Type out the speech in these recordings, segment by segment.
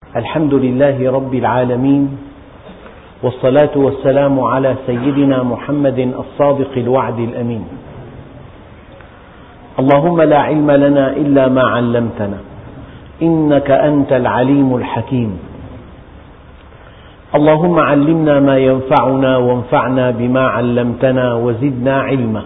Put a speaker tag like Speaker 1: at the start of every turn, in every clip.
Speaker 1: الحمد لله رب العالمين، والصلاة والسلام على سيدنا محمد الصادق الوعد الأمين. اللهم لا علم لنا إلا ما علمتنا إنك أنت العليم الحكيم. اللهم علمنا ما ينفعنا وانفعنا بما علمتنا وزدنا علما،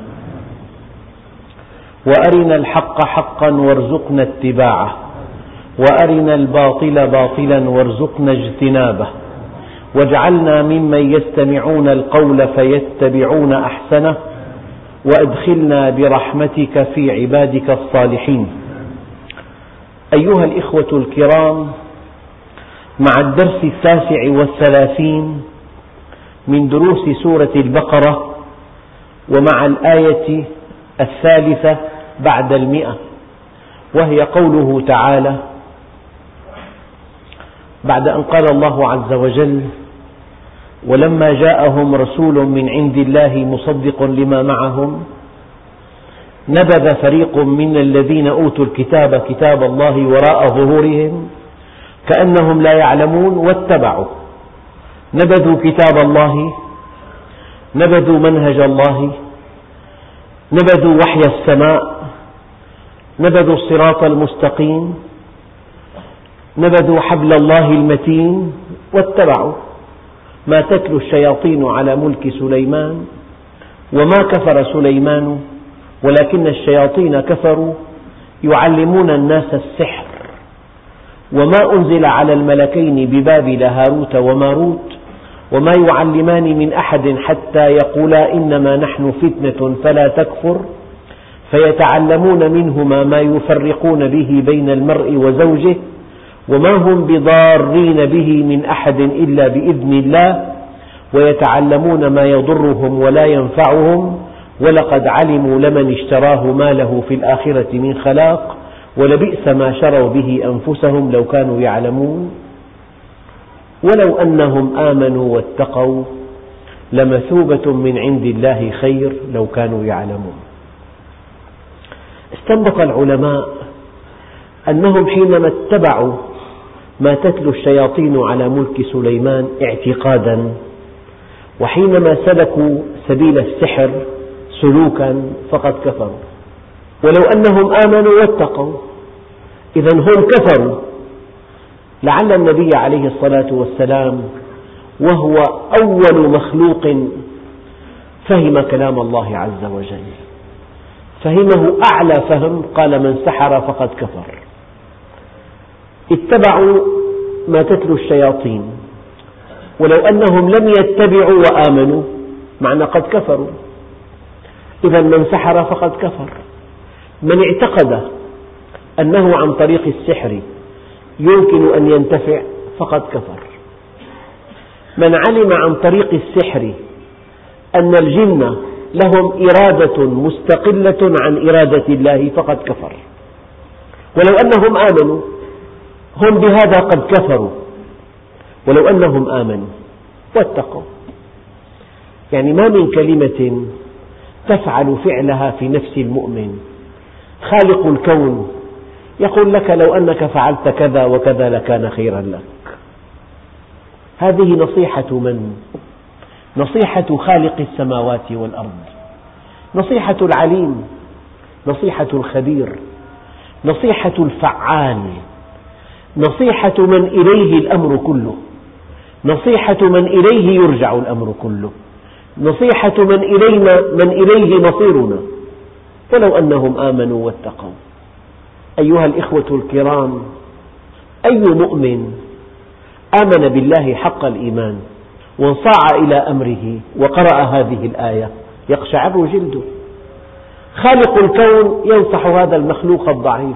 Speaker 1: وأرنا الحق حقا وارزقنا اتباعه، وأرنا الباطل باطلا وارزقنا اجتنابه، واجعلنا ممن يستمعون القول فيتبعون أحسنه، وأدخلنا برحمتك في عبادك الصالحين. أيها الإخوة الكرام، مع الدرس 39 من دروس سورة البقرة، ومع الآية 3 بعد 100، وهي قوله تعالى: بعد أن قال الله عز وجل: ولما جاءهم رسول من عند الله مصدق لما معهم نبذ فريق من الذين أوتوا الكتاب كتاب الله وراء ظهورهم كأنهم لا يعلمون واتبعوا، نبذوا كتاب الله، نبذوا منهج الله، نبذوا وحي السماء، نبذوا الصراط المستقيم، نبذوا حبل الله المتين، واتبعوا ما تتلو الشياطين على ملك سليمان وما كفر سليمان ولكن الشياطين كفروا يعلمون الناس السحر وما أنزل على الملكين ببابل هاروت وماروت وما يعلمان من أحد حتى يقولا إنما نحن فتنة فلا تكفر، فيتعلمون منهما ما يفرقون به بين المرء وزوجه وما هم بضارين به من أحد إلا بإذن الله، ويتعلمون ما يضرهم ولا ينفعهم، ولقد علموا لمن اشتراه ما له في الآخرة من خلاق، ولبئس ما شروا به أنفسهم لو كانوا يعلمون، ولو أنهم آمنوا واتقوا لمثوبة من عند الله خير لو كانوا يعلمون. استنبط العلماء أنهم حينما اتبعوا ما تتلو الشياطين على ملك سليمان اعتقادا، وحينما سلكوا سبيل السحر سلوكا فقد كفروا. ولو أنهم آمنوا واتقوا، إذن هم كفروا. لعل النبي عليه الصلاة والسلام وهو أول مخلوق فهم كلام الله عز وجل، فهمه أعلى فهم، قال: من سحر فقد كفر. اتبعوا ما تتلو الشياطين، ولو أنهم لم يتبعوا وآمنوا معنى قد كفروا. إذن من سحر فقد كفر. من اعتقد أنه عن طريق السحر يمكن أن ينتفع فقد كفر. من علم عن طريق السحر أن الجن لهم إرادة مستقلة عن إرادة الله فقد كفر. ولو أنهم آمنوا، هم بهذا قد كفروا. ولو أنهم آمنوا واتقوا، يعني ما من كلمة تفعل فعلها في نفس المؤمن خالق الكون يقول لك لو أنك فعلت كذا وكذا لكان خيرا لك. هذه نصيحة من؟ نصيحة خالق السماوات والأرض، نصيحة العليم، نصيحة الخبير، نصيحة الفعال، نصيحة من إليه الأمر كله، نصيحة من إليه يرجع الأمر كله، نصيحة من إليه مصيرنا. ولو أنهم آمنوا واتقوا. أيها الإخوة الكرام، أي مؤمن آمن بالله حق الإيمان وانصاع إلى أمره وقرأ هذه الآية يقشعر جلده. خالق الكون ينصح هذا المخلوق الضعيف،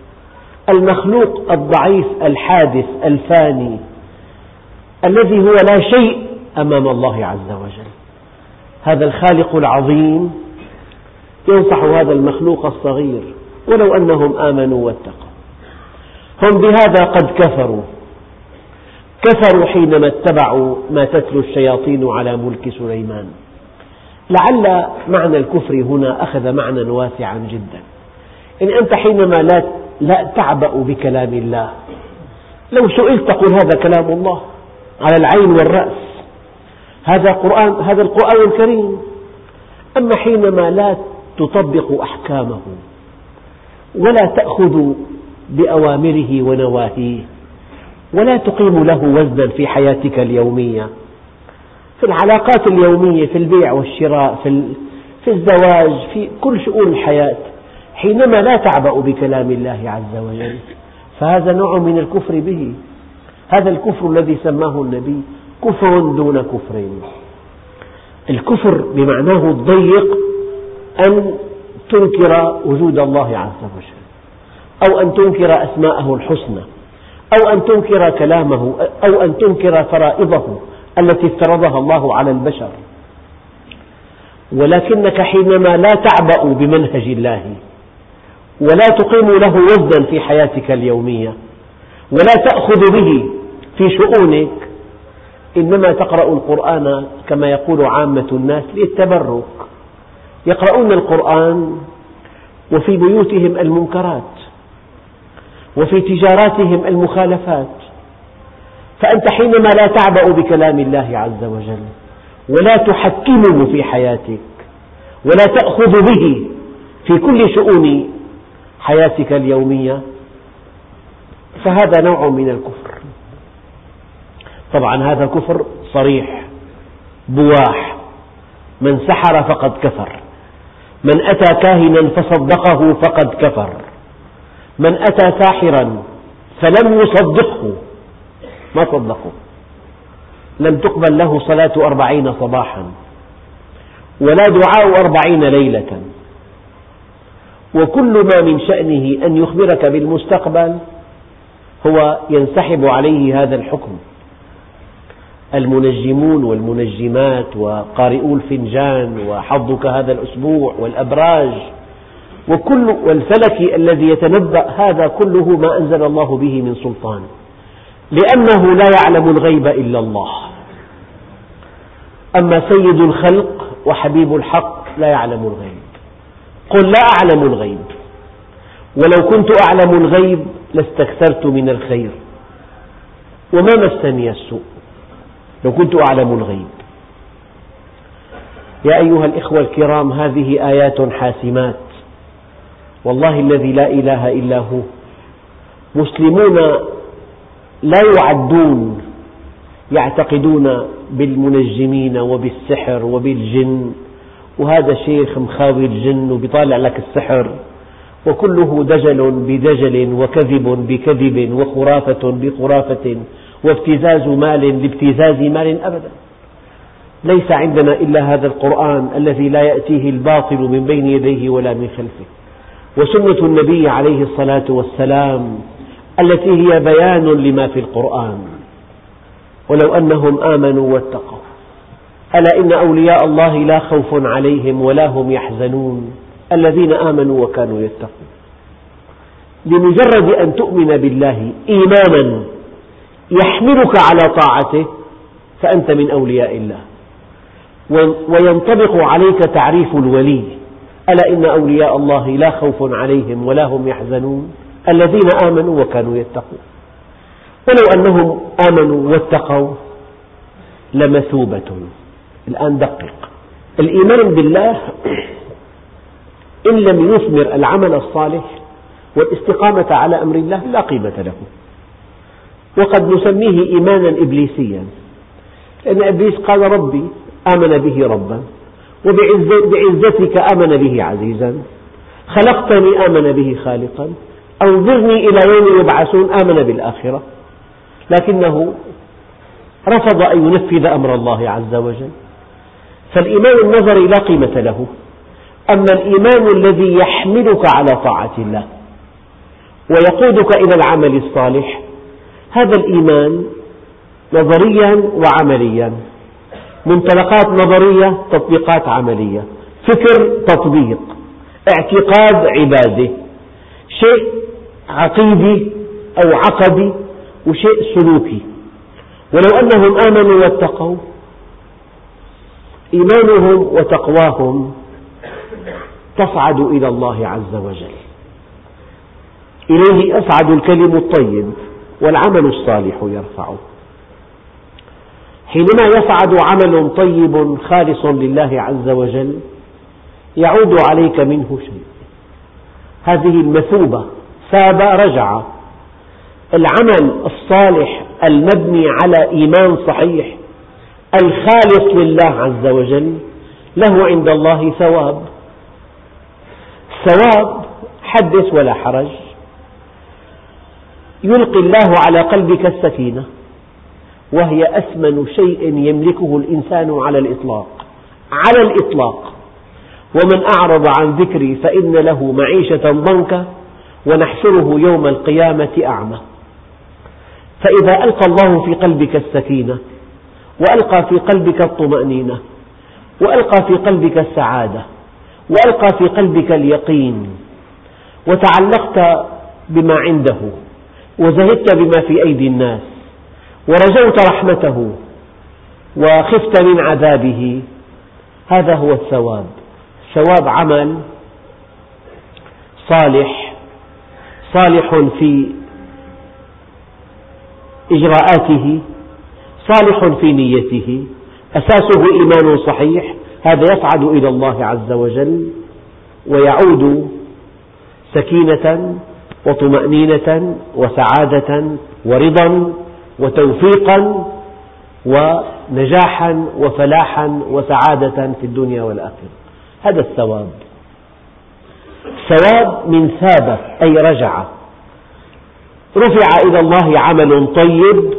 Speaker 1: المخلوق الضعيف الحادث الفاني الذي هو لا شيء أمام الله عز وجل. هذا الخالق العظيم ينصح هذا المخلوق الصغير. ولو أنهم آمنوا واتقوا. هم بهذا قد كفروا. كفروا حينما اتبعوا ما تتلو الشياطين على ملك سليمان. لعل معنى الكفر هنا أخذ معنى واسعا جدا. إن أنت حينما لا تعبأ بكلام الله لو سئلت تقول هذا كلام الله على العين والرأس، هذا القرآن الكريم. أما حينما لا تطبق أحكامه ولا تأخذ بأوامره ونواهيه ولا تقيم له وزنا في حياتك اليومية، في العلاقات اليومية، في البيع والشراء، في الزواج، في كل شؤون الحياة، حينما لا تعبأ بكلام الله عز وجل، فهذا نوع من الكفر به. هذا الكفر الذي سماه النبي كفر دون كفر. الكفر بمعناه الضيق أن تنكر وجود الله عز وجل، أو أن تنكر أسماءه الحسنى، أو أن تنكر كلامه، أو أن تنكر فرائضه التي افترضها الله على البشر. ولكنك حينما لا تعبأ بمنهج الله ولا تقيم له وزنا في حياتك اليومية ولا تأخذ به في شؤونك، إنما تقرأ القرآن كما يقول عامة الناس للتبرك، يقرؤون القرآن وفي بيوتهم المنكرات وفي تجاراتهم المخالفات. فأنت حينما لا تعبأ بكلام الله عز وجل ولا تحكمه في حياتك ولا تأخذ به في كل شؤون حياتك اليومية، فهذا نوع من الكفر. طبعا هذا كفر صريح بواح. من سحر فقد كفر، من أتى كاهنا فصدقه فقد كفر، من أتى ساحرا فلم يصدقه، ما صدقه، لم تقبل له صلاة 40 صباحا ولا دعاء 40 ليلة. وكل ما من شأنه أن يخبرك بالمستقبل هو ينسحب عليه هذا الحكم. المنجمون والمنجمات وقارئو الفنجان وحظك هذا الأسبوع والأبراج والفلك الذي يتنبأ، هذا كله ما أنزل الله به من سلطان، لأنه لا يعلم الغيب إلا الله. أما سيد الخلق وحبيب الحق لا يعلم الغيب. قل لا أعلم الغيب، ولو كنت أعلم الغيب لاستكثرت من الخير وما مسني السوء، لو كنت أعلم الغيب. يا أيها الإخوة الكرام، هذه آيات حاسمات، والله الذي لا إله إلا هو. مسلمون لا يعدون، يعتقدون بالمنجمين وبالسحر وبالجن، وهذا شيخ مخاوي الجن وبيطالع لك السحر، وكله دجل بدجل وكذب بكذب وخرافة بخرافة وابتزاز مال لابتزاز مال. أبدا، ليس عندنا إلا هذا القرآن الذي لا يأتيه الباطل من بين يديه ولا من خلفه، وسنة النبي عليه الصلاة والسلام التي هي بيان لما في القرآن. ولو أنهم آمنوا واتقوا، ألا إن أولياء الله لا خوف عليهم ولا هم يحزنون الذين آمنوا وكانوا يتقون. لمجرد أن تؤمن بالله إيمانا يحملك على طاعته فأنت من أولياء الله، وينطبق عليك تعريف الولي: ألا إن أولياء الله لا خوف عليهم ولا هم يحزنون الذين آمنوا وكانوا يتقون. ولو أنهم آمنوا واتقوا لمثوبة. الآن دقق، الإيمان بالله إن لم يثمر العمل الصالح والاستقامة على أمر الله لا قيمة له، وقد نسميه إيمانا إبليسيا، لأن إبليس قال ربي، آمن به ربا، وبعزتك آمن به عزيزا، خلقتني آمن به خالقا، أنظرني إلى يوم يبعثون آمن بالآخرة، لكنه رفض أن ينفذ أمر الله عز وجل. فالإيمان النظري لا قيمة له. أما الإيمان الذي يحملك على طاعة الله ويقودك إلى العمل الصالح، هذا الإيمان نظريا وعمليا، منطلقات نظرية، تطبيقات عملية، فكر تطبيق، اعتقاد عبادة، شيء عقيدي أو عقدي وشيء سلوكي. ولو أنهم آمنوا واتقوا، إيمانهم وتقواهم تصعد إلى الله عز وجل، إليه يصعد الكلم الطيب والعمل الصالح يرفعه. حينما يصعد عمل طيب خالص لله عز وجل يعود عليك منه شيء، هذه المثوبة، ثاب رجع. العمل الصالح المبني على إيمان صحيح الخالص لله عز وجل له عند الله ثواب. ثواب حدث ولا حرج، يلقي الله على قلبك السكينة، وهي أثمن شيء يملكه الإنسان على الإطلاق. ومن أعرض عن ذكري فإن له معيشة ضنكا ونحشره يوم القيامة أعمى. فإذا ألقى الله في قلبك السكينة، وألقى في قلبك الطمأنينة، وألقى في قلبك السعادة، وألقى في قلبك اليقين، وتعلقت بما عنده، وزهدت بما في أيدي الناس، ورجوت رحمته، وخفت من عذابه، هذا هو الثواب. ثواب عمل صالح في إجراءاته، صالح في نيته، أساسه إيمان صحيح، هذا يصعد إلى الله عز وجل ويعود سكينة وطمأنينة وسعادة ورضا وتوفيقا ونجاحا وفلاحا وسعادة في الدنيا والآخرة. هذا الثواب. ثواب من ثاب أي رجع، رفع إلى الله عمل طيب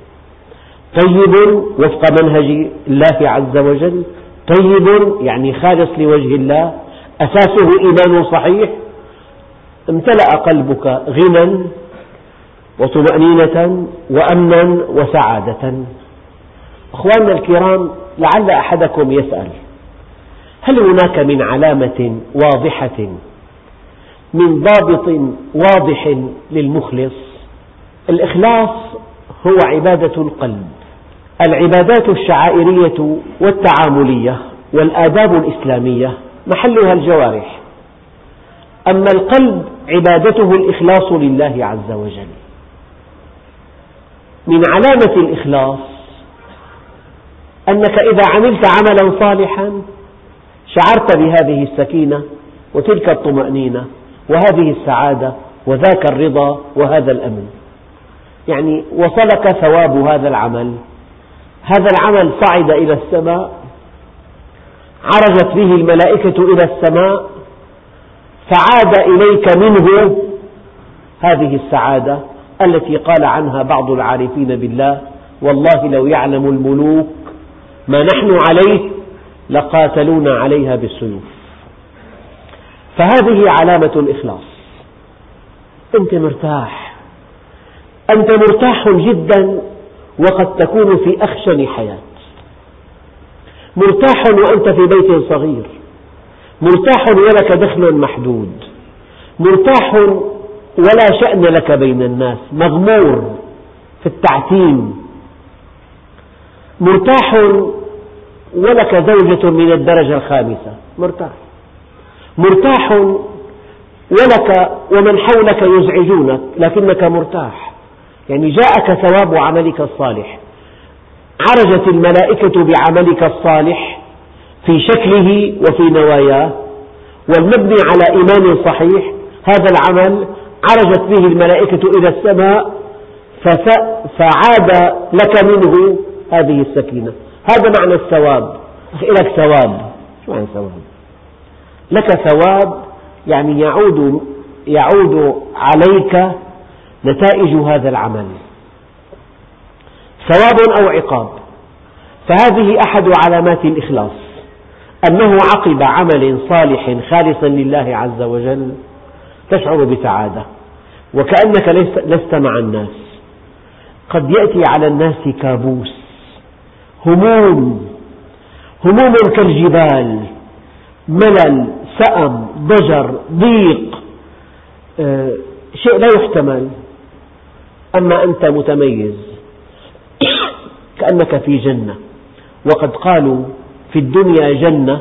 Speaker 1: وفق منهج الله عز وجل، طيب يعني خالص لوجه الله، أساسه إيمان صحيح، امتلأ قلبك غنى وطمأنينة وأمنا وسعادة. أخواننا الكرام، لعل أحدكم يسأل: هل هناك من علامة واضحة، من ضابط واضح للمخلص؟ الإخلاص هو عبادة القلب. العبادات الشعائرية والتعاملية والآداب الإسلامية محلها الجوارح، أما القلب عبادته الإخلاص لله عز وجل. من علامة الإخلاص أنك إذا عملت عملا صالحا شعرت بهذه السكينة وتلك الطمأنينة وهذه السعادة وذاك الرضا وهذا الأمن، يعني وصلك ثواب هذا العمل. هذا العمل صعد إلى السماء، عرجت به الملائكة إلى السماء، فعاد إليك منه هذه السعادة التي قال عنها بعض العارفين بالله: والله لو يعلم الملوك ما نحن عليه لقاتلونا عليها بالسيوف. فهذه علامة الإخلاص. أنت مرتاح جدا وقد تكون في أخشن حياة، مرتاح وأنت في بيت صغير، مرتاح ولك دخل محدود، مرتاح ولا شأن لك بين الناس، مغمور في التعتيم، مرتاح ولك زوجة من الدرجة الخامسة، مرتاح ولك ومن حولك يزعجونك لكنك مرتاح، يعني جاءك ثواب عملك الصالح، عرجت الملائكة بعملك الصالح في شكله وفي نواياه، والمبني على إيمان صحيح، هذا العمل عرجت به الملائكة إلى السماء فعاد لك منه هذه السكينة. هذا معنى الثواب. لك ثواب، شو معنى ثواب؟ لك ثواب يعني يعود عليك نتائج هذا العمل، ثواب أو عقاب. فهذه أحد علامات الإخلاص، أنه عقب عمل صالح خالصا لله عز وجل تشعر بسعادة وكأنك لست مع الناس. قد يأتي على الناس كابوس، هموم كالجبال، ملل، سأم، ضجر، ضيق، شيء لا يحتمل. أما أنت متميز كأنك في جنة. وقد قالوا في الدنيا جنة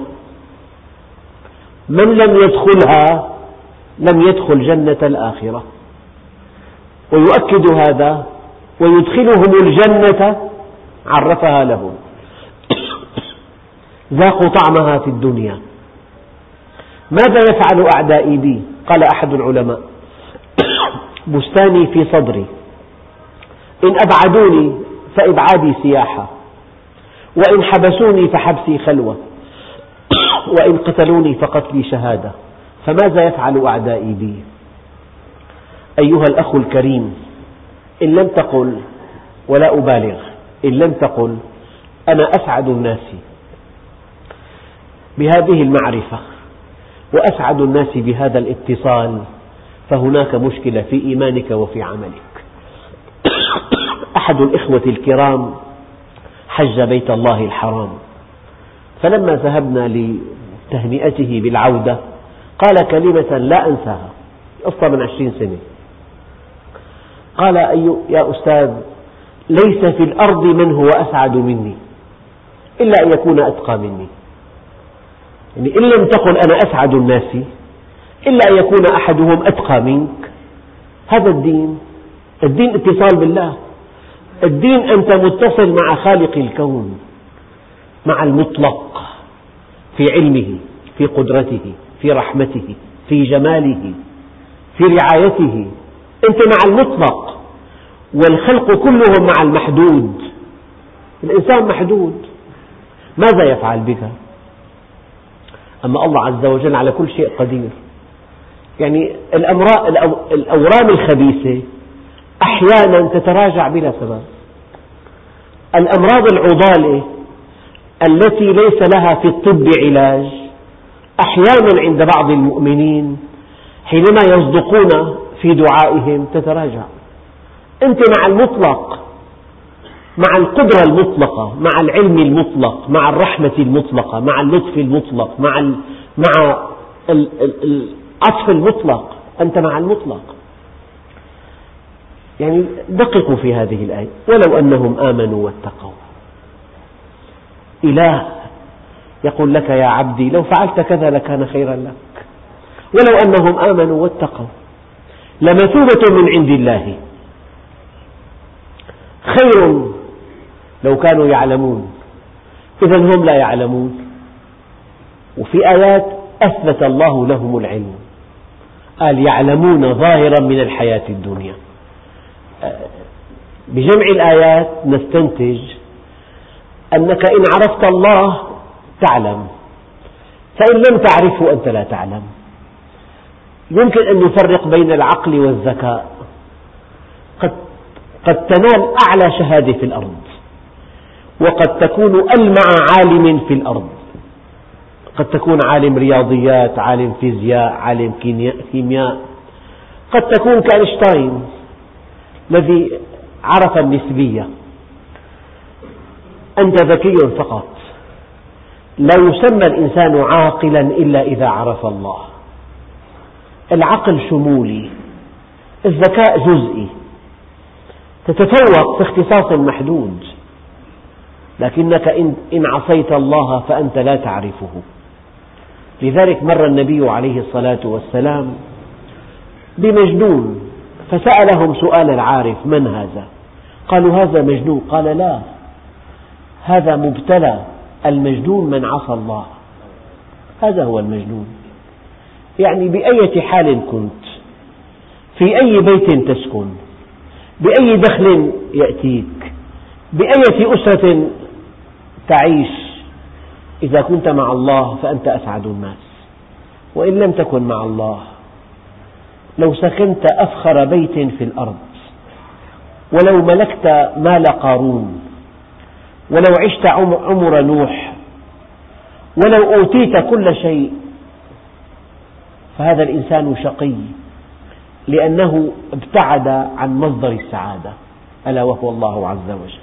Speaker 1: من لم يدخلها لم يدخل جنة الآخرة. ويؤكد هذا ويدخلهم الجنة عرفها لهم. ذاقوا طعمها في الدنيا. ماذا يفعل أعدائي بي؟ قال أحد العلماء: بستاني في صدري، إن أبعدوني فإبعادي سياحة، وإن حبسوني فحبسي خلوة، وإن قتلوني فقتلي شهادة. فماذا يفعل أعدائي بي؟ أيها الأخ الكريم، إن لم تقل، ولا أبالغ، إن لم تقل أنا أسعد الناس بهذه المعرفة وأسعد الناس بهذا الاتصال، فهناك مشكلة في إيمانك وفي عملك. أحد الإخوة الكرام حج بيت الله الحرام، فلما ذهبنا لتهنئته بالعودة قال كلمة لا أنساها، قصة من 20 سنة. قال: يا أستاذ، ليس في الأرض من هو أسعد مني إلا أن يكون أتقى مني. يعني إن لم تقل أنا أسعد الناس إلا أن يكون أحدهم أتقى منك. هذا الدين اتصال بالله. الدين أنت متصل مع خالق الكون، مع المطلق في علمه، في قدرته، في رحمته، في جماله، في رعايته. أنت مع المطلق، والخلق كلهم مع المحدود. الإنسان محدود، ماذا يفعل بك؟ أما الله عز وجل على كل شيء قدير. يعني الأورام الخبيثة أحيانا تتراجع بلا سبب. الأمراض العضالة التي ليس لها في الطب علاج أحيانا عند بعض المؤمنين حينما يصدقون في دعائهم تتراجع. أنت مع المطلق، مع القدرة المطلقة، مع العلم المطلق، مع الرحمة المطلقة، مع اللطف المطلق، مع العطف المطلق. أنت مع المطلق. يعني دققوا في هذه الآية: ولو أنهم آمنوا واتقوا. إله يقول لك: يا عبدي لو فعلت كذا لكان خيرا لك. ولو أنهم آمنوا واتقوا لمثوبة من عند الله خير لو كانوا يعلمون. إذا هم لا يعلمون. وفي آيات أثبت الله لهم العلم، قال: يعلمون ظاهرا من الحياة الدنيا. بجمع الآيات نستنتج أنك إن عرفت الله تعلم، فإن لم تعرفه أنت لا تعلم. يمكن أن نفرق بين العقل والذكاء. قد تنال أعلى شهادة في الأرض، وقد تكون ألمع عالم في الأرض. قد تكون عالم رياضيات، عالم فيزياء، عالم كيمياء. قد تكون كأينشتاين الذي عرف النسبية. أنت ذكي فقط. لا يسمى الإنسان عاقلا إلا إذا عرف الله. العقل شمولي، الذكاء جزئي. تتفوق في اختصاص محدود، لكنك إن عصيت الله فأنت لا تعرفه. لذلك مر النبي عليه الصلاة والسلام بمجنون فسألهم سؤال العارف: من هذا؟ قالوا: هذا مجنون. قال: لا، هذا مبتلى. المجنون من عصى الله، هذا هو المجنون. يعني بأية حال كنت، في أي بيت تسكن، بأي دخل يأتيك، بأية أسرة تعيش، إذا كنت مع الله فأنت أسعد الناس. وإن لم تكن مع الله، لو سكنت أفخر بيت في الأرض، ولو ملكت مال قارون، ولو عشت عمر نوح، ولو أوتيت كل شيء، فهذا الإنسان شقي، لأنه ابتعد عن مصدر السعادة ألا وهو الله عز وجل.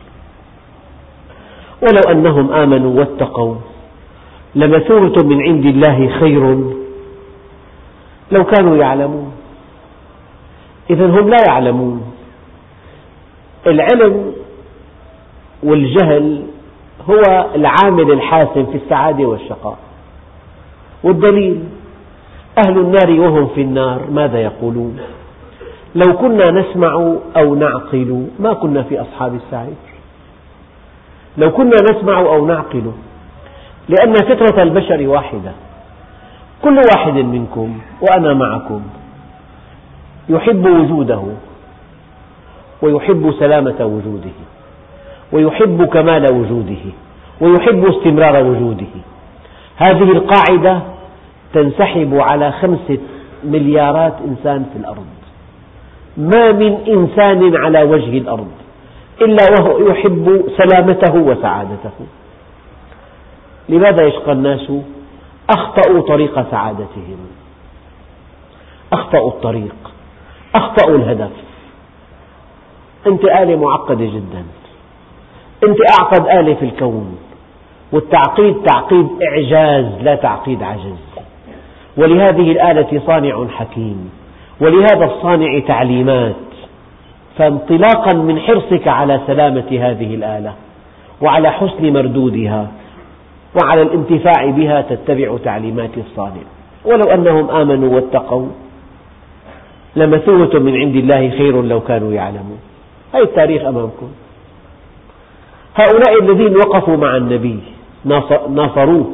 Speaker 1: ولو أنهم آمنوا واتقوا لمثوبة من عند الله خير لو كانوا يعلمون. إذن هم لا يعلمون. العلم والجهل هو العامل الحاسم في السعادة والشقاء. والدليل: أهل النار وهم في النار ماذا يقولون؟ لو كنا نسمع أو نعقل ما كنا في أصحاب السعير. لو كنا نسمع أو نعقل، لأن فطرة البشر واحدة. كل واحد منكم وأنا معكم يحب وجوده، ويحب سلامة وجوده، ويحب كمال وجوده، ويحب استمرار وجوده. هذه القاعدة تنسحب على 5 مليارات إنسان في الأرض. ما من إنسان على وجه الأرض إلا وهو يحب سلامته وسعادته. لماذا يشقى الناس؟ أخطأوا طريق سعادتهم، أخطأوا الطريق، أخطأوا الهدف. أنت آلة معقدة جدا، أنت أعقد آلة في الكون، والتعقيد تعقيد إعجاز لا تعقيد عجز. ولهذه الآلة صانع حكيم، ولهذا الصانع تعليمات. فانطلاقا من حرصك على سلامة هذه الآلة وعلى حسن مردودها وعلى الانتفاع بها تتبع تعليمات الصانع. ولو أنهم آمنوا واتقوا لمثوبة من عند الله خير لو كانوا يعلمون. هذا التاريخ أمامكم. هؤلاء الذين وقفوا مع النبي ناصروه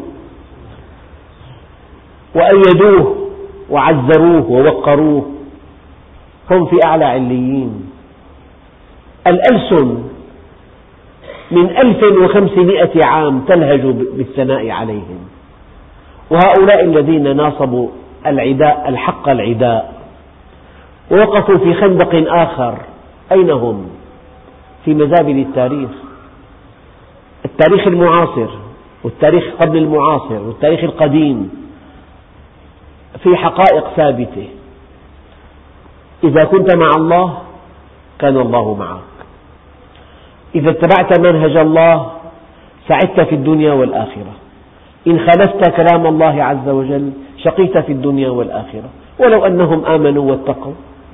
Speaker 1: وأيدوه وعزروه ووقروه، هم في أعلى عليين. الألسن من 1500 عام تلهج بالثناء عليهم، وهؤلاء الذين ناصبوا العداء الحق العداء ووقفوا في خندق آخر، أين هم؟ في مزابل التاريخ. التاريخ المعاصر والتاريخ قبل المعاصر والتاريخ القديم في حقائق ثابتة. إذا كنت مع الله كان الله معك، إذا اتبعت منهج الله سعدت في الدنيا والآخرة، إن خالفت كلام الله عز وجل شقيت في الدنيا والآخرة. ولو أنهم آمنوا واتقوا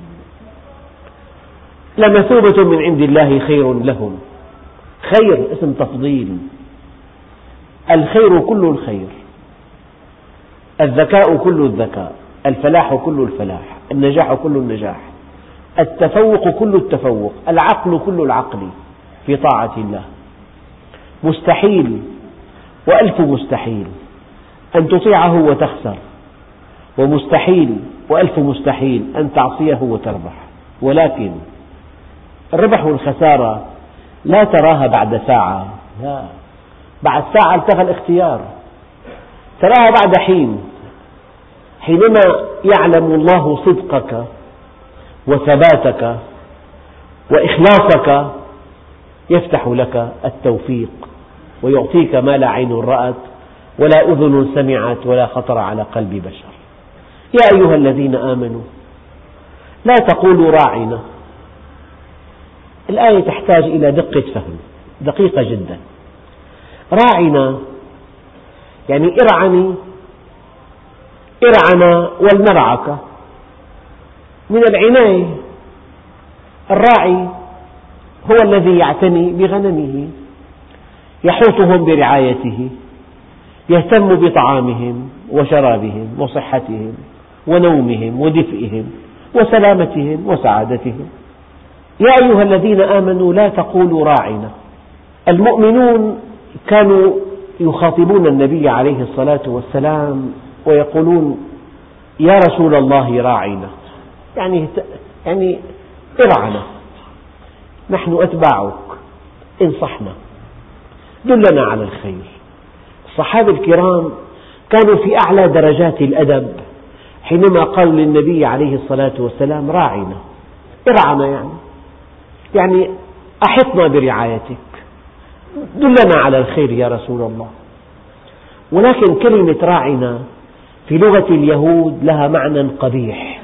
Speaker 1: لمثوبة من عند الله خير لهم. خير اسم تفضيل، الخير كل الخير، الذكاء كل الذكاء، الفلاح كل الفلاح، النجاح كل النجاح، التفوق كل التفوق، العقل كل العقل في طاعة الله. مستحيل وألف مستحيل أن تطيعه وتخسر، ومستحيل وألف مستحيل أن تعصيه وتربح. ولكن الربح والخسارة لا تراها بعد ساعة، لا، بعد ساعة التغى الاختيار، تراها بعد حين، حينما يعلم الله صدقك وثباتك وإخلاصك يفتح لك التوفيق ويعطيك ما لا عين رأت ولا أذن سمعت ولا خطر على قلب بشر. يا أيها الذين آمنوا لا تقولوا راعنا. الآية تحتاج إلى دقة فهم دقيقة جدا. راعنا يعني ارعني ولنرعك، من العناية. الراعي هو الذي يعتني بغنمه، يحوطهم برعايته، يهتم بطعامهم وشرابهم وصحتهم ونومهم ودفئهم وسلامتهم وسعادتهم. يا أيها الذين آمنوا لا تقولوا راعنا. المؤمنون كانوا يخاطبون النبي عليه الصلاة والسلام ويقولون يا رسول الله راعنا، يعني ارعنا، نحن أتباعك، انصحنا، دلنا على الخير. الصحابة الكرام كانوا في أعلى درجات الأدب حينما قالوا للنبي عليه الصلاة والسلام راعنا، ارعنا، يعني أحطنا برعايتك، دلنا على الخير يا رسول الله. ولكن كلمة راعنا في لغة اليهود لها معنى قبيح،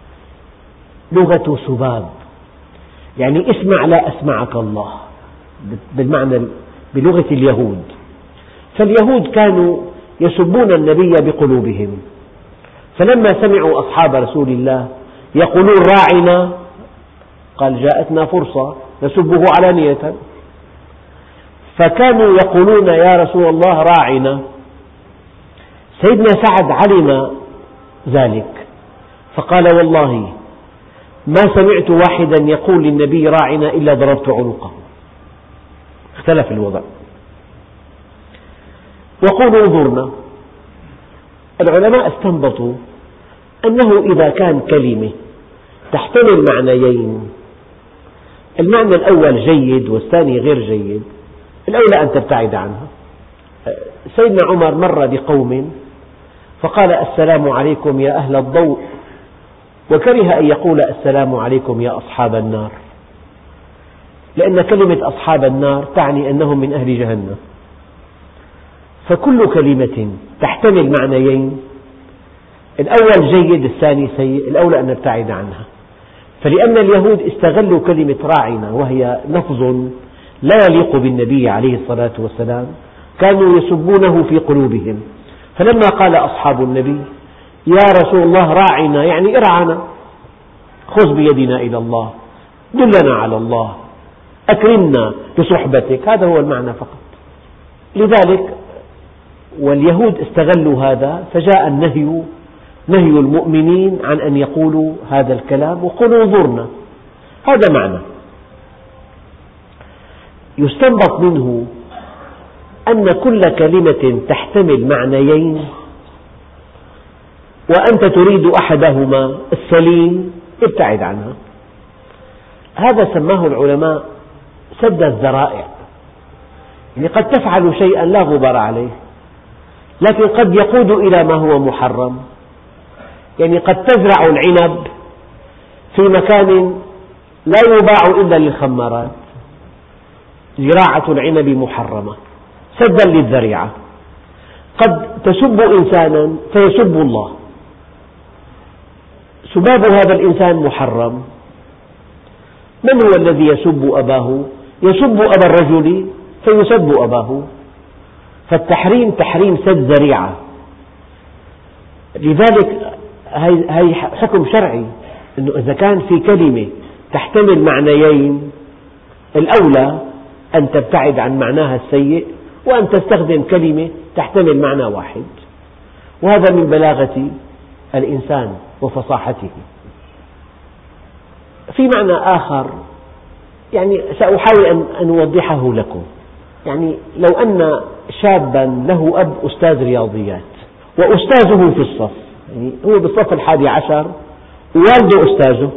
Speaker 1: لغة سباب، يعني اسمع لا أسمعك الله، بالمعنى بلغة اليهود. فاليهود كانوا يسبون النبي بقلوبهم، فلما سمعوا أصحاب رسول الله يقولون راعنا قال جاءتنا فرصة نسبه علانية، فكانوا يقولون يا رسول الله راعنا. سيدنا سعد علم ذلك فقال والله ما سمعت واحدا يقول للنبي راعنا إلا ضربت عنقه. اختلف الوضع. وقولوا انظرنا. العلماء استنبطوا أنه إذا كان كلمة تحتمل معنيين، المعنى الأول جيد والثاني غير جيد، الأولى أن تبتعد عنها. سيدنا عمر مر بقوم فقال السلام عليكم يا أهل الضوء، وكره أن يقول السلام عليكم يا أصحاب النار، لأن كلمة أصحاب النار تعني أنهم من أهل جهنم. فكل كلمة تحتمل معنيين، الأول جيد الثاني سيء، الأولى أن نبتعد عنها. فلأن اليهود استغلوا كلمة راعنا وهي لفظ لا يليق بالنبي عليه الصلاة والسلام، كانوا يسبونه في قلوبهم. فلما قال أصحاب النبي يا رسول الله راعنا، يعني ارعنا، خذ بيدنا إلى الله، دلنا على الله، أكرمنا بصحبتك، هذا هو المعنى فقط. لذلك واليهود استغلوا هذا، فجاء النهي، نهي المؤمنين عن أن يقولوا هذا الكلام، وقولوا انظرنا، هذا معنى. يستنبط منه أن كل كلمة تحتمل معنيين وأنت تريد أحدهما السليم ابتعد عنها. هذا سماه العلماء سد الذرائع. يعني قد تفعل شيئا لا غبار عليه، لكن قد يقود إلى ما هو محرم. يعني قد تزرع العنب في مكان لا يباع إلا للخمارات، زراعة العنب محرمة سدا للذريعة. قد تسب إنسانا فيسب الله، سباب هذا الإنسان محرم. من هو الذي يسب أباه؟ يسب أبا الرجل فيسب أباه. فالتحريم تحريم سد ذريعة. لذلك هي حكم شرعي، أنه إذا كان في كلمة تحتمل معنيين، الأولى أن تبتعد عن معناها السيء وأن تستخدم كلمة تحتمل معنى واحد. وهذا من بلاغة الإنسان وفصاحته. في معنى آخر يعني سأحاول أن أوضحه لكم. يعني لو أن شابا له أب أستاذ رياضيات وأستاذه في الصف، يعني هو بالصف 11 ووالده أستاذه،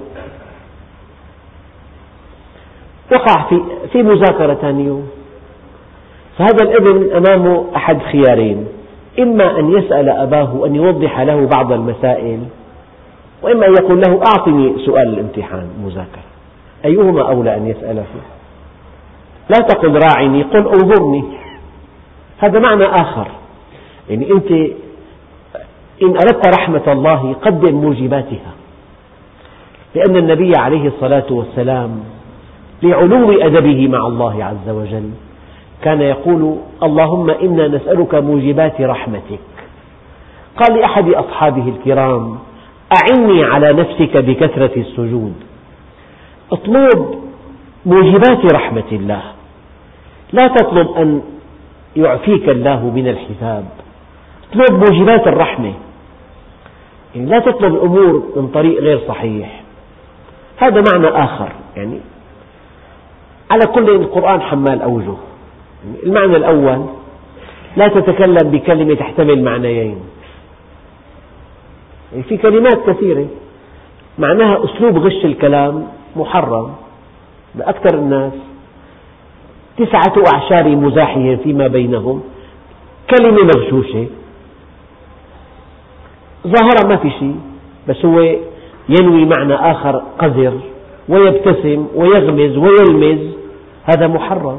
Speaker 1: وقع في مذاكرة ثاني يوم، فهذا الابن أمامه أحد خيارين: إما أن يسأل أباه أن يوضح له بعض المسائل، وإما أن يقول له أعطني سؤال الامتحان مذاكرة. أيهما أولى أن يسأله؟ لا تقل راعني، قل انظرني. هذا معنى آخر. يعني أنت إن أردت رحمة الله قدم موجباتها، لأن النبي عليه الصلاة والسلام لعلو أدبه مع الله عز وجل كان يقول: اللهم إنا نسألك موجبات رحمتك. قال لأحد أصحابه الكرام: أعني على نفسك بكثرة السجود. اطلب موجبات رحمة الله، لا تطلب أن يعفيك الله من الحساب، اطلب موجبات الرحمة. يعني لا تطلب الأمور من طريق غير صحيح. هذا معنى آخر. يعني على كل القرآن حمال أوجه. المعنى الأول: لا تتكلم بكلمة تحتمل معنيين. يعني في كلمات كثيرة معناها أسلوب غش الكلام محرم. أكثر الناس 9 أعشار مزاحهم فيما بينهم، كلمة مغشوشة ظاهرة ما في شيء، بس هو ينوي معنى آخر قذر، ويبتسم ويغمز ويلمز، هذا محرم.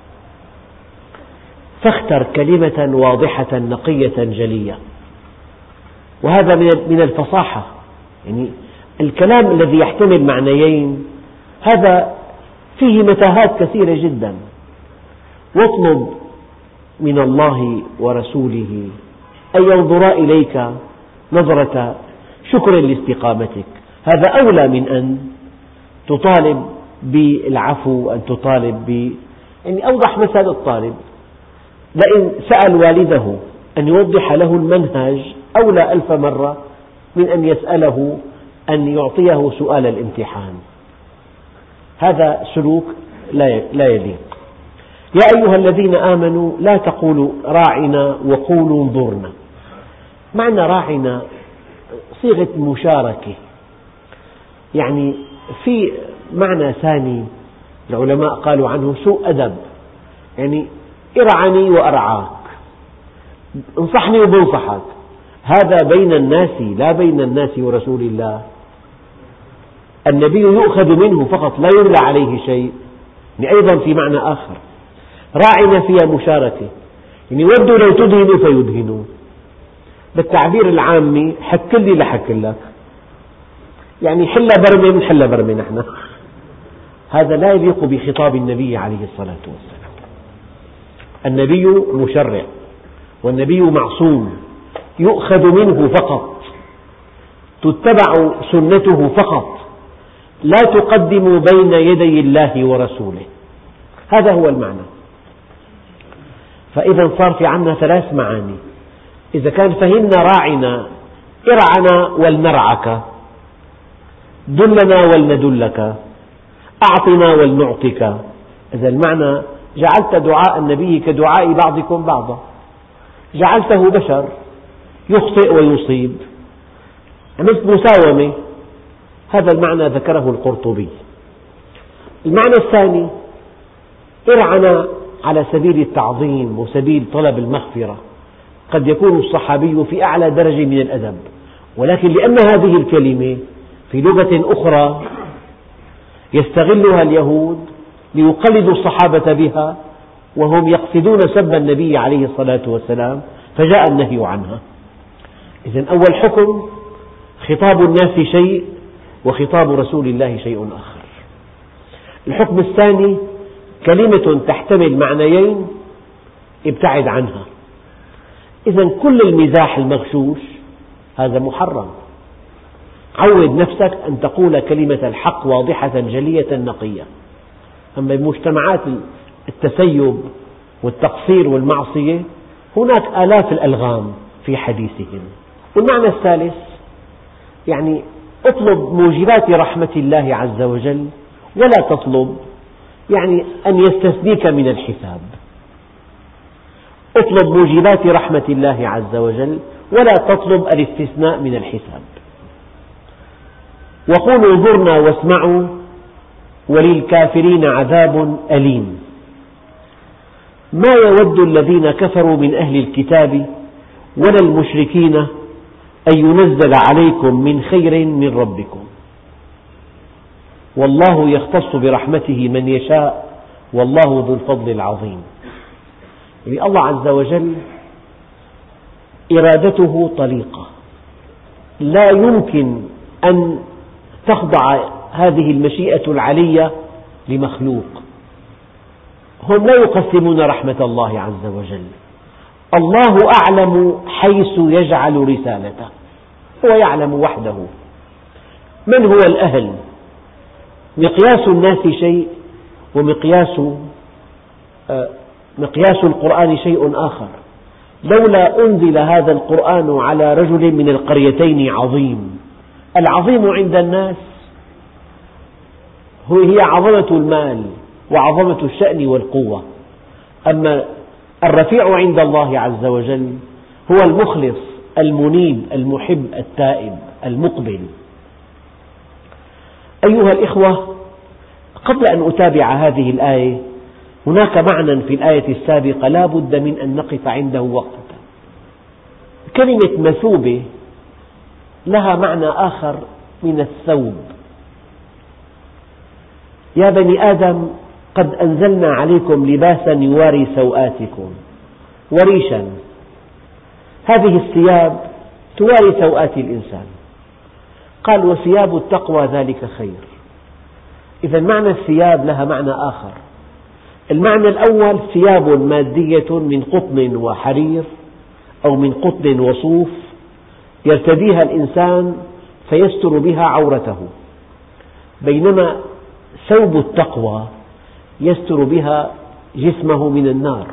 Speaker 1: فاختر كلمة واضحة نقية جلية، وهذا من الفصاحة. يعني الكلام الذي يحتمل معنيين هذا فيه متاهات كثيرة جدا. واطلب من الله ورسوله أن ينظرا إليك نظرة شكر لاستقامتك. هذا أولى من أن تطالب بالعفو وأن تطالب يعني أوضح مثل الطالب لئن سأل والده أن يوضح له المنهج أولى 1000 مرة من أن يسأله أن يعطيه سؤال الامتحان. هذا سلوك لا يليق. يا أيها الذين آمنوا لا تقولوا راعنا وقولوا انظرنا. معنى راعنا صيغة مشاركة، يعني في معنى ثاني العلماء قالوا عنه سوء أدب، يعني ارعني وأرعاك، انصحني وبنصحك، هذا بين الناس لا بين الناس ورسول الله. النبي يؤخذ منه فقط لا يملى عليه شيء، يعني أيضا في معنى آخر. راعنا فيها مشاركة، يعني ودوا لو تدهنوا فيدهنوا، بالتعبير العامي حك لي لحك لك، يعني حل برمي من حل برمي نحن. هذا لا يليق بخطاب النبي عليه الصلاة والسلام. النبي مشرع، والنبي معصوم، يؤخذ منه فقط، تتبع سنته فقط، لا تقدم بين يدي الله ورسوله. هذا هو المعنى. فإذا صار في عندنا ثلاث معاني. إذا كان فهمنا راعنا ارعنا ولنرعك، دلنا ولندلك، أعطنا ولنعطك. إذا المعنى جعلت دعاء النبي كدعاء بعضكم بعضا، جعلته بشر يخطئ ويصيب، عملت مساومة. هذا المعنى ذكره القرطبي. المعنى الثاني ارعنا على سبيل التعظيم وسبيل طلب المغفرة. قد يكون الصحابي في أعلى درجة من الأدب، ولكن لأن هذه الكلمة في لغة أخرى يستغلها اليهود ليقلدوا الصحابة بها، وهم يقصدون سب النبي عليه الصلاة والسلام، فجاء النهي عنها. إذن أول حكم خطاب الناس شيء وخطاب رسول الله شيء آخر. الحكم الثاني كلمة تحتمل معنيين ابتعد عنها. إذن كل المزاح المغشوش هذا محرم. عود نفسك أن تقول كلمة الحق واضحة جلية نقية. أما بمجتمعات التسيب والتقصير والمعصية هناك آلاف الألغام في حديثهم. والمعنى الثالث يعني اطلب موجبات رحمة الله عز وجل ولا تطلب يعني أن يستثنيك من الحساب. اطلب موجبات رحمة الله عز وجل ولا تطلب الاستثناء من الحساب. وقولوا انظرنا واسمعوا وللكافرين عذاب أليم. ما يود الذين كفروا من أهل الكتاب ولا المشركين أن ينزل عليكم من خير من ربكم والله يختص برحمته من يشاء والله ذو الفضل العظيم. يعني الله عز وجل إرادته طليقة، لا يمكن أن تخضع هذه المشيئة العلية لمخلوق. هم لا يقسمون رحمة الله عز وجل. الله أعلم حيث يجعل رسالته، هو يعلم وحده من هو الأهل. مقياس الناس شيء مقياس القرآن شيء آخر. لولا أنزل هذا القرآن على رجل من القريتين عظيم. العظيم عند الناس هي عظمة المال وعظمة الشأن والقوة، أما الرفيع عند الله عز وجل هو المخلص المنيب المحب التائب المقبل. أيها الإخوة، قبل أن أتابع هذه الآية هناك معنى في الآية السابقة لا بد من أن نقف عنده وقفة. كلمة مثوبة لها معنى آخر من الثوب. يا بني آدم قد أنزلنا عليكم لباسا يواري سوآتكم وريشا. هذه الثياب تواري سوآت الإنسان. قال وثياب التقوى ذلك خير. إذا معنى الثياب لها معنى آخر. المعنى الأول ثياب مادية من قطن وحرير أو من قطن وصوف يرتديها الإنسان فيستر بها عورته، بينما ثوب التقوى يستر بها جسمه من النار.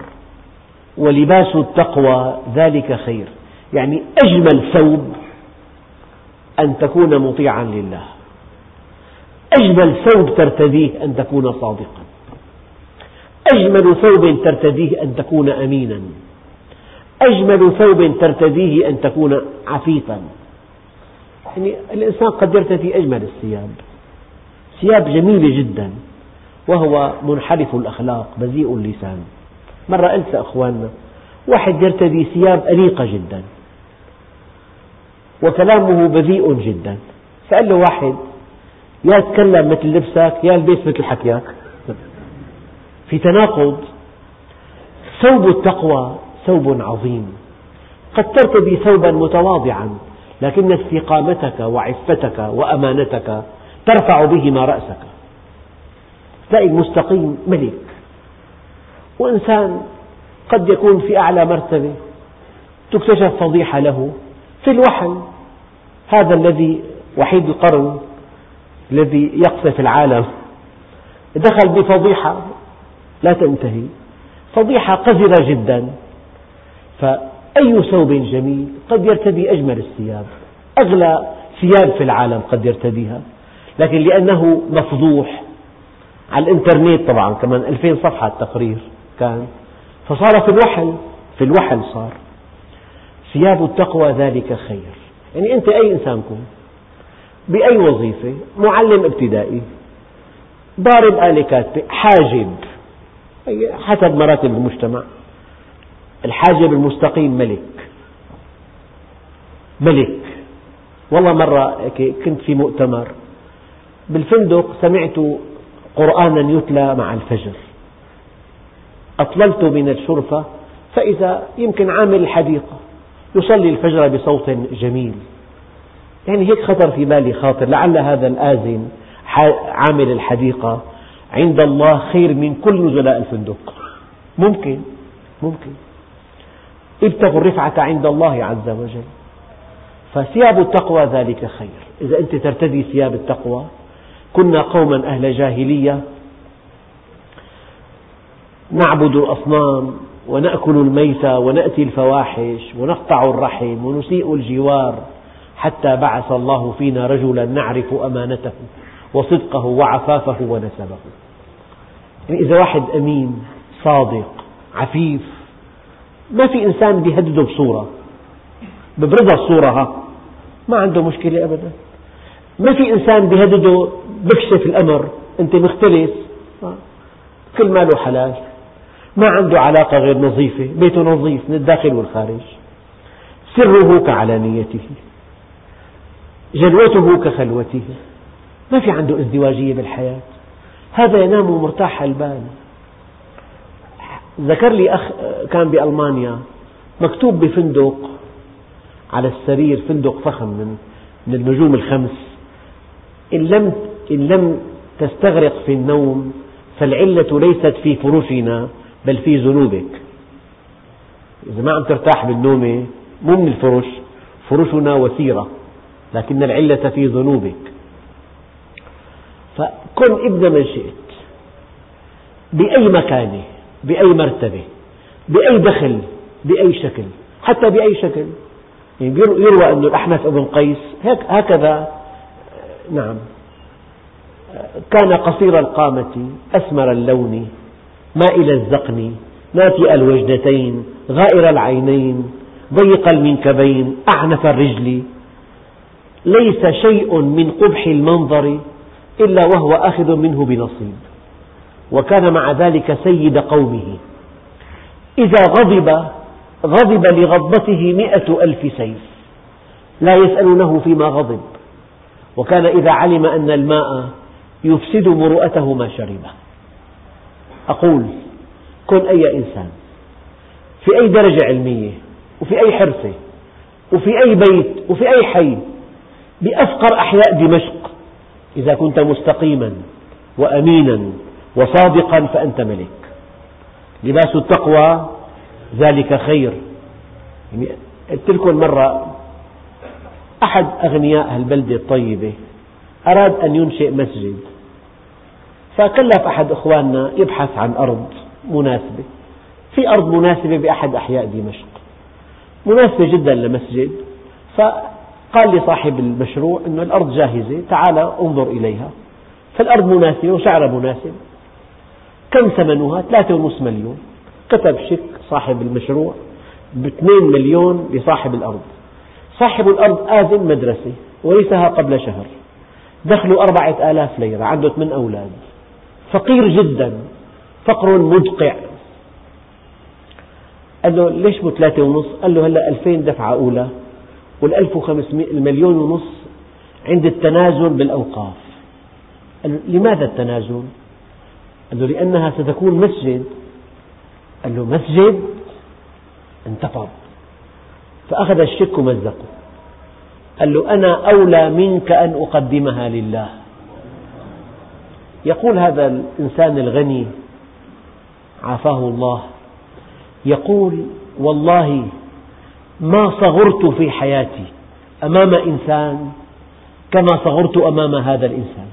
Speaker 1: ولباس التقوى ذلك خير، يعني أجمل ثوب أن تكون مطيعا لله، أجمل ثوب ترتديه أن تكون صادقا، أجمل ثوب ترتديه أن تكون أمينا، أجمل ثوب ترتديه أن تكون عفيفا. يعني الإنسان قد يرتدي أجمل الثياب، ثياب جميلة جدا وهو منحرف الأخلاق بذيء اللسان. مرة قلت لأخواننا واحد يرتدي ثياب أنيقة جدا وكلامه بذيء جدا، فقال له واحد يا تكلم مثل لبسك يا البس مثل حكيك، في تناقض. ثوب التقوى ثوب عظيم، قد ترتدي ثوبا متواضعا لكن استقامتك وعفتك وأمانتك ترفع بهما رأسك. تلاقي المستقيم ملك، وإنسان قد يكون في أعلى مرتبة تكتشف فضيحة له في الوحل. هذا الذي وحيد القرن الذي يقصف العالم دخل بفضيحة لا تنتهي، فضيحة قذرة جدا. فأي ثوب جميل قد يرتدي أجمل الثياب، أغلى ثياب في العالم قد يرتديها، لكن لأنه مفضوح على الإنترنت طبعا كمان 2000 صفحة التقرير كان، فصار في الوحل صار. ثياب التقوى ذلك خير. يعني أنت أي إنسان كن بأي وظيفة، معلم ابتدائي، ضارب آلة كاتبة، حاجب، حسب مراتب المجتمع. الحاجب المستقيم ملك. والله مرة كنت في مؤتمر بالفندق، سمعت قرآنا يتلى مع الفجر، أطللت من الشرفة فإذا يمكن عامل الحديقة يصلي الفجر بصوت جميل. يعني هيك خطر في بالي خاطر لعل هذا الآذن عامل الحديقة عند الله خير من كل نزلاء الفندق. ممكن ابتغوا الرفعة عند الله عز وجل. فثياب التقوى ذلك خير. إذا أنت ترتدي ثياب التقوى. كنا قوما أهل جاهلية نعبد الأصنام ونأكل الميتة ونأتي الفواحش ونقطع الرحم ونسيء الجوار، حتى بعث الله فينا رجلا نعرف أمانته وصدقه وعفافه ونسبه. يعني إذا واحد أمين صادق عفيف، ما في إنسان بيهدده بصورة ببرزها الصورة، ما عنده مشكلة أبدا. ما في إنسان بيهدده بكشف الأمر، أنت مختلس، كل ماله حلال، ما عنده علاقة غير نظيفة، بيته نظيف من الداخل والخارج، سره كعلانيته، جلوته كخلوته، ما في عنده ازدواجية بالحياة. هذا ينام مرتاح البال. ذكر لي أخ كان بألمانيا، مكتوب بفندق على السرير، فندق فخم من النجوم الخمس، إن لم تستغرق في النوم فالعلة ليست في فرشنا بل في ذنوبك. إذا ما عم ترتاح بالنوم مو من الفرش، فرشنا وثيرة، لكن العلة في ذنوبك. فكن ابن من شئت، بأي مكانة، بأي مرتبة، بأي دخل، بأي شكل، حتى بأي شكل. يعني يروى أن الأحنف بن قيس هكذا، نعم، كان قصير القامة أسمر اللون مائل الذقن ناتئ الوجنتين غائر العينين ضيق المنكبين أعنف الرجل، ليس شيء من قبح المنظر إلا وهو آخذ منه بنصيب، وكان مع ذلك سيد قومه، إذا غضب لغضبته 100,000 سيف لا يسألونه فيما غضب، وكان إذا علم أن الماء يفسد مروءته ما شربه. أقول كن أي إنسان في أي درجة علمية وفي أي حرفة وفي أي بيت وفي أي حي بأفقر أحياء دمشق، إذا كنت مستقيما وأمينا وصادقا فأنت ملك. لباس التقوى ذلك خير. يعني قلت لكم مرة أحد أغنياء البلدة الطيبة أراد أن ينشئ مسجد، فكلف أحد إخواننا يبحث عن أرض مناسبة. في أرض مناسبة بأحد أحياء دمشق، مناسبة جدا لمسجد، قال لصاحب المشروع أن الأرض جاهزة، تعال انظر إليها. فالأرض مناسبة وسعرها مناسب. كم ثمنها؟ 3.5 مليون. كتب شيك صاحب المشروع ب2 مليون لصاحب الأرض. صاحب الأرض آذن مدرسة ورثها قبل شهر، دخله 4000 ليرة، عنده 8 أولاد، فقير جدا، فقر مدقع. قال له ليش مو 3.5؟ قال له هلأ 2000 دفعة أولى وال1500 1.5 مليون عند التنازل بالأوقاف. قال له لماذا التنازل؟ قال له لأنها ستكون مسجد. قال له مسجد؟ انتفض، فأخذ الشيك ومزقه. قال له أنا أولى منك أن أقدمها لله. يقول هذا الإنسان الغني عافاه الله، يقول والله ما صغرت في حياتي أمام إنسان كما صغرت أمام هذا الإنسان.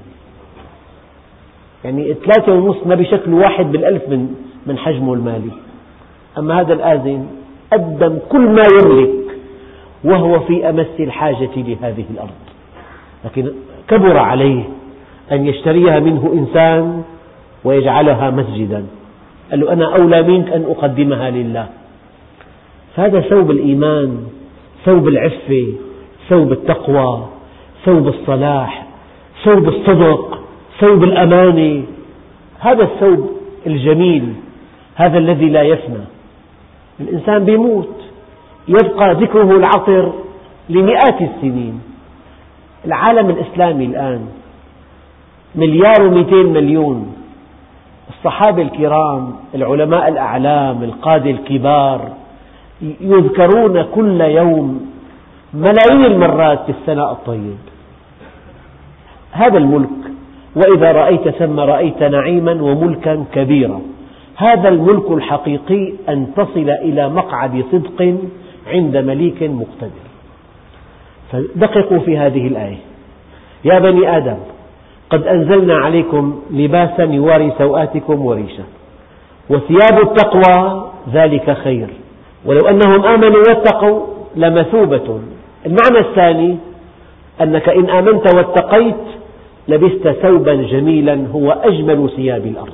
Speaker 1: يعني 3.5 ما بشكل 1 بالألف من حجمه المالي، أما هذا الآذن قدم كل ما يملك وهو في أمس الحاجة لهذه الأرض، لكن كبر عليه أن يشتريها منه إنسان ويجعلها مسجدا. قال له أنا أولى منك أن أقدمها لله. فهذا ثوب الإيمان، ثوب العفة، ثوب التقوى، ثوب الصلاح، ثوب الصدق، ثوب الأمانة. هذا الثوب الجميل، هذا الذي لا يفنى. الإنسان بيموت، يبقى ذكره العطر لمئات السنين. العالم الإسلامي الآن 1.2 مليار. الصحابة الكرام، العلماء الأعلام، القادة الكبار يذكرون كل يوم ملايين المرات في الثناء الطيب. هذا الملك، وإذا رأيت ثم رأيت نعيما وملكا كبيرا. هذا الملك الحقيقي أن تصل إلى مقعد صدق عند مليك مقتدر. فدققوا في هذه الآية: يا بني آدم قد أنزلنا عليكم لباسا يواري سوآتكم وريشا وثياب التقوى ذلك خير ولو أنهم آمنوا واتقوا لمثوبة. المعنى الثاني أنك إن آمنت واتقيت لبست ثوبا جميلا هو أجمل ثياب الأرض.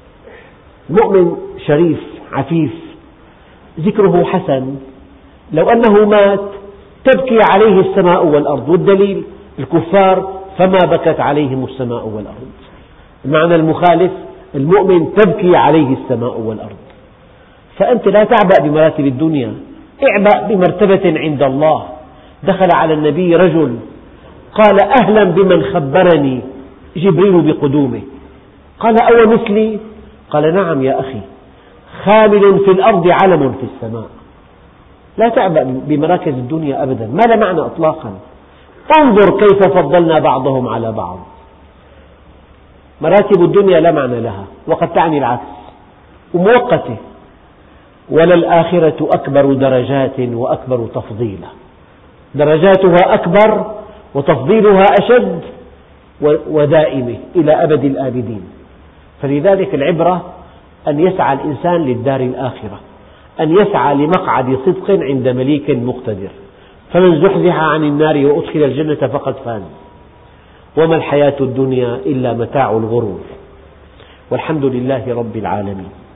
Speaker 1: مؤمن شريف عفيف ذكره حسن، لو أنه مات تبكي عليه السماء والأرض، والدليل الكفار فما بكت عليهم السماء والأرض. المعنى المخالف: المؤمن تبكي عليه السماء والأرض. فأنت لا تعبأ بمراتب الدنيا، اعبأ بمرتبة عند الله. دخل على النبي رجل قال: أهلا بمن خبرني جبريل بقدومه. قال: أو مثلي؟ قال: نعم يا أخي، خامل في الأرض علم في السماء. لا تعبأ بمراكز الدنيا أبدا، ما لا معنى إطلاقا. انظر كيف فضلنا بعضهم على بعض. مراتب الدنيا لا معنى لها، وقد تعني العكس ومؤقتة. وللآخرة أكبر درجات وأكبر تفضيلا. درجاتها أكبر وتفضيلها أشد ودائمة إلى أبد الآبدين. فلذلك العبرة أن يسعى الإنسان للدار الآخرة، أن يسعى لمقعد صدق عند مليك مقتدر. فمن زحزح عن النار وأدخل الجنة فقد فاز، وما الحياة الدنيا إلا متاع الغرور. والحمد لله رب العالمين.